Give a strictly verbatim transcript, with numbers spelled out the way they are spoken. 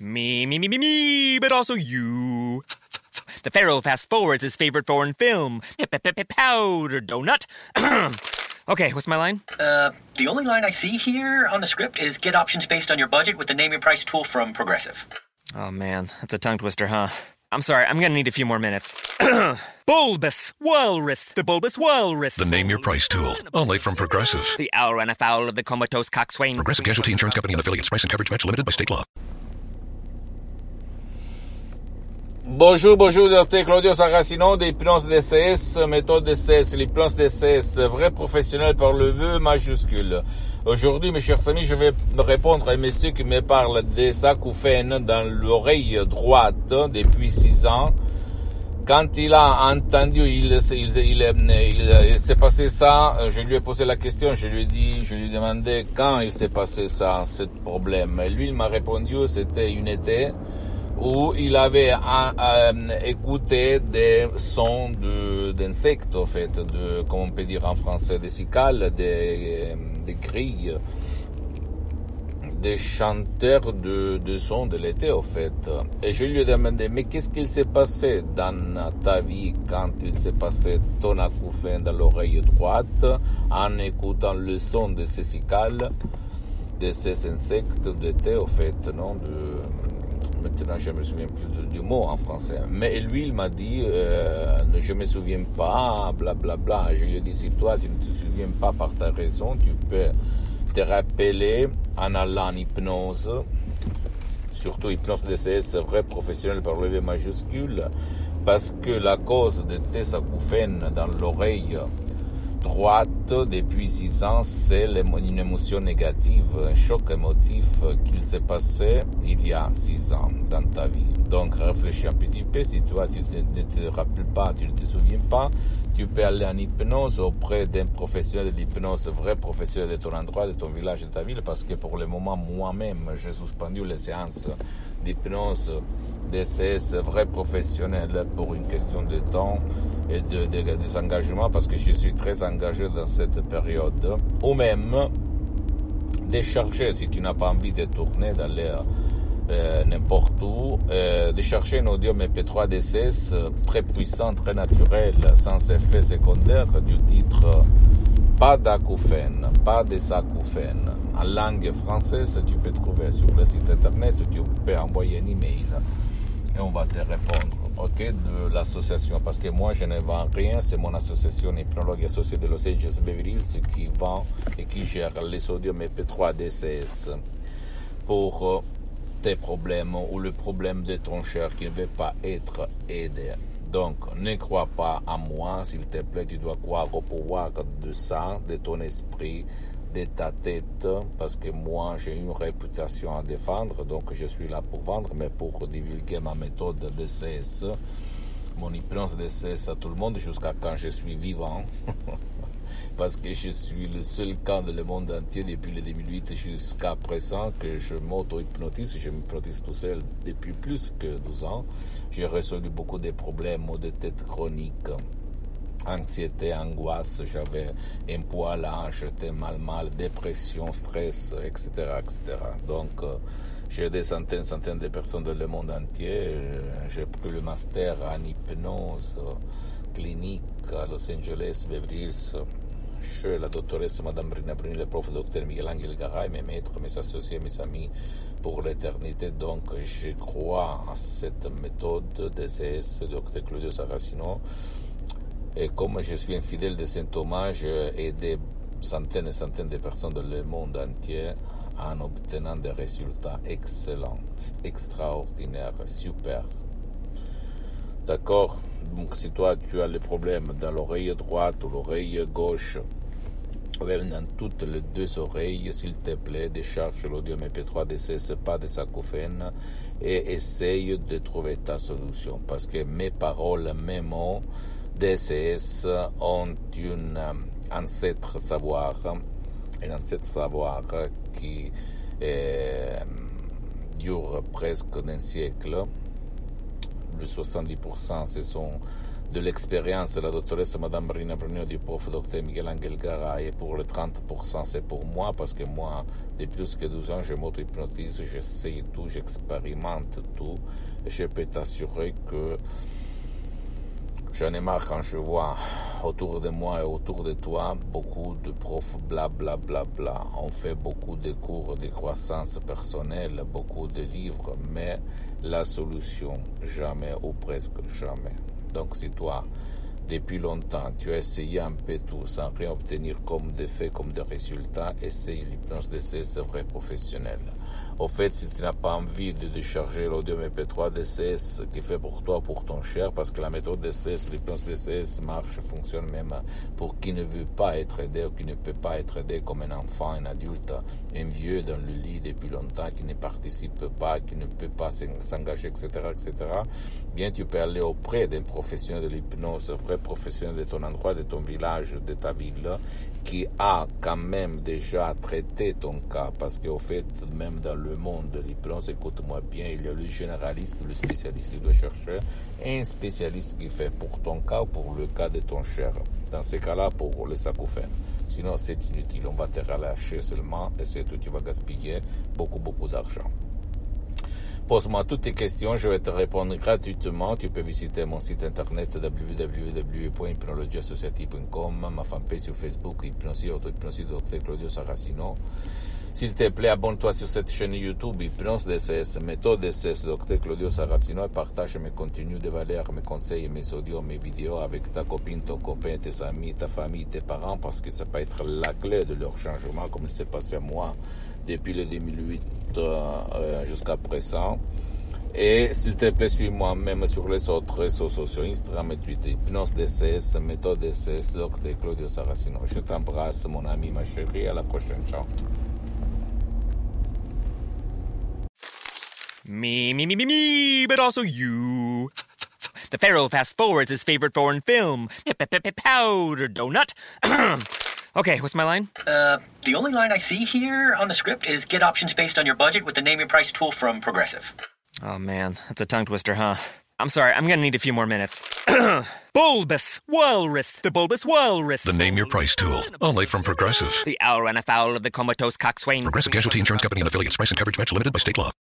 Me, me, me, me, me, but also you. The Pharaoh fast forwards his favorite foreign film, Powder Donut. Okay, what's my line? Uh, the only line I see here on the script is get options based on your budget with the Name Your Price tool from Progressive. Oh man, that's a tongue twister, huh? I'm sorry, I'm gonna need a few more minutes. Bulbous Walrus, the Bulbous Walrus. The Name Your Price tool, only from Progressive. The owl ran afoul of the comatose coxswain. Progressive Casualty Insurance Company and affiliates. Price and coverage match limited by state law. Bonjour, bonjour, docteur Claudio Saracino de Hypnose D C S, méthode D C S, l'hypnose D C S, vrai professionnel par le vœu majuscule. Aujourd'hui, mes chers amis, je vais répondre à un monsieur qui me parle des acouphènes dans l'oreille droite depuis six ans. Quand il a entendu, il, il, il, il, il s'est passé ça, je lui ai posé la question, je lui ai dit, je lui ai demandé quand il s'est passé ça, ce problème. Et lui, il m'a répondu, c'était une été où il avait euh, écouté des sons de, d'insectes, en fait, de, comment on peut dire en français, des cicales, des, des grilles, des chanteurs de, de sons de l'été, en fait. Et je lui ai demandé, mais qu'est-ce qu'il s'est passé dans ta vie quand il s'est passé ton acouphène dans l'oreille droite en écoutant le son de ces cicales, de ces insectes d'été, en fait, non, de... Maintenant, je ne me souviens plus du, du mot en français. Mais lui, il m'a dit, euh, je ne me souviens pas, blablabla. Bla, bla. Je lui ai dit, si toi, tu ne te souviens pas par ta raison, tu peux te rappeler en allant en hypnose, surtout hypnose D C S, vrai professionnel par le V majuscule, parce que la cause de tes acouphènes dans l'oreille droite depuis six ans, c'est une émotion négative, un choc émotif qu'il s'est passé il y a six ans dans ta vie. Donc réfléchis un petit peu, si toi tu ne te rappelles pas, tu ne te souviens pas, tu peux aller en hypnose auprès d'un professionnel de l'hypnose, vrai professionnel de ton endroit, de ton village, de ta ville, parce que pour le moment, moi-même, j'ai suspendu les séances d'hypnose D C S vrai professionnel pour une question de temps et de, de, de, des engagements, parce que je suis très engagé dans cette période, ou même décharger, si tu n'as pas envie de tourner, d'aller euh, n'importe où, euh, de chercher un audio M P trois D C S très puissant, très naturel, sans effet secondaire, du titre pas d'acouphènes, pas des acouphènes. En langue française, tu peux trouver sur le site internet, tu peux envoyer un email et on va te répondre, ok, de l'association, parce que moi je ne vends rien, c'est mon association Hypnologue Associée de Los Angeles Beverly Hills qui vend et qui gère les audios M P trois D C S pour tes problèmes ou le problème de ton cher qui ne veut pas être aidé. Donc, ne crois pas à moi, s'il te plaît, tu dois croire au pouvoir de ça, de ton esprit, de ta tête, parce que moi, j'ai une réputation à défendre, donc je suis là pour vendre, mais pour divulguer ma méthode D C S, mon hypnose D C S à tout le monde, jusqu'à quand je suis vivant, parce que je suis le seul cas dans le monde entier depuis le deux mille huit jusqu'à présent que je m'auto-hypnotise, je m'hypnotise tout seul depuis plus que douze ans. J'ai résolu beaucoup de problèmes de tête chronique, anxiété, angoisse, j'avais un poids là, j'étais mal mal, dépression, stress, et cetera, et cetera. Donc, euh, j'ai des centaines, centaines de personnes dans le monde entier. J'ai pris le master en hypnose clinique à Los Angeles, Beverly Hills, chez la doctoresse Madame Brina Bruni, le prof docteur Miguel Angel Garay, mes maîtres, mes associés, mes amis pour l'éternité. Donc, je crois à cette méthode D C S, docteur Claudio Saracino. Et comme je suis un fidèle de Saint Thomas, j'ai aidé centaines et centaines de personnes dans le monde entier en obtenant des résultats excellents, extraordinaires, super. D'accord? Donc, si toi, tu as le problème dans l'oreille droite ou l'oreille gauche, ou même dans toutes les deux oreilles, s'il te plaît, décharge l'audio M P trois D C S, pas des acouphènes, et essaye de trouver ta solution. Parce que mes paroles, mes mots, D C S ont un ancêtre savoir, un ancêtre savoir qui euh, dure presque un siècle. Le soixante-dix pour cent ce sont de l'expérience de la doctoresse Madame Marina Brunio, du prof docteur Miguel Angel Garay, et pour le trente pour cent c'est pour moi, parce que moi, depuis plus que douze ans, je m'auto-hypnotise, j'essaye tout, j'expérimente tout, et je peux t'assurer que j'en ai marre quand je vois autour de moi et autour de toi beaucoup de profs bla bla bla bla. On fait beaucoup de cours de croissance personnelle, beaucoup de livres, mais la solution, jamais ou presque jamais. Donc si toi, depuis longtemps, tu as essayé un peu tout sans rien obtenir comme des faits, comme des résultats, essaye l'hypnose D C S vrai professionnel. Au fait, si tu n'as pas envie de décharger l'audio M P trois D C S qui fait pour toi, pour ton cher, parce que la méthode D C S, l'hypnose D C S marche, fonctionne même pour qui ne veut pas être aidé ou qui ne peut pas être aidé comme un enfant, un adulte, un vieux dans le lit depuis longtemps, qui ne participe pas, qui ne peut pas s'engager, et cetera, et cetera. Bien, tu peux aller auprès d'un professionnel de l'hypnose, vrai professionnel de ton endroit, de ton village, de ta ville, qui a quand même déjà traité ton cas, parce qu'au fait, même dans le monde de l'hypnose, écoute-moi bien, il y a le généraliste, le spécialiste. Tu dois chercher un spécialiste qui fait pour ton cas ou pour le cas de ton cher. Dans ces cas-là, pour les acouphènes. Sinon, c'est inutile. On va te relâcher seulement et c'est tout. Tu vas gaspiller beaucoup, beaucoup d'argent. Pose-moi toutes tes questions, je vais te répondre gratuitement. Tu peux visiter mon site internet w w w point hypnologie associative point com, ma fanpage sur Facebook, Hypnosie, Auto-Hypnosie, docteur Claudio Saracino. S'il te plaît, abonne-toi sur cette chaîne YouTube, Hypnose D C S, méthode D C S, docteur Claudio Saracino, et partage mes contenus de valeur, mes conseils, mes audios, mes vidéos avec ta copine, ton copain, tes amis, ta famille, tes parents, parce que ça peut être la clé de leur changement, comme il s'est passé à moi depuis le deux mille huit euh, jusqu'à présent. Et s'il te plaît, suis-moi même sur les autres réseaux sociaux, Instagram et Twitter, Hypnose D C S, méthode D C S, docteur Claudio Saracino. Je t'embrasse, mon ami, ma chérie, à la prochaine, ciao. Me, me, me, me, me, but also you. The Pharaoh fast forwards his favorite foreign film, Powder Donut. Okay, what's my line? Uh, the only line I see here on the script is get options based on your budget with the Name Your Price tool from Progressive. Oh man, that's a tongue twister, huh? I'm sorry, I'm gonna need a few more minutes. Bulbous Walrus, the Bulbous Walrus. The Name Your Price tool, only from Progressive. The owl ran afoul of the comatose coxswain. Progressive Casualty Insurance Company and affiliates. Price and coverage match limited by state law.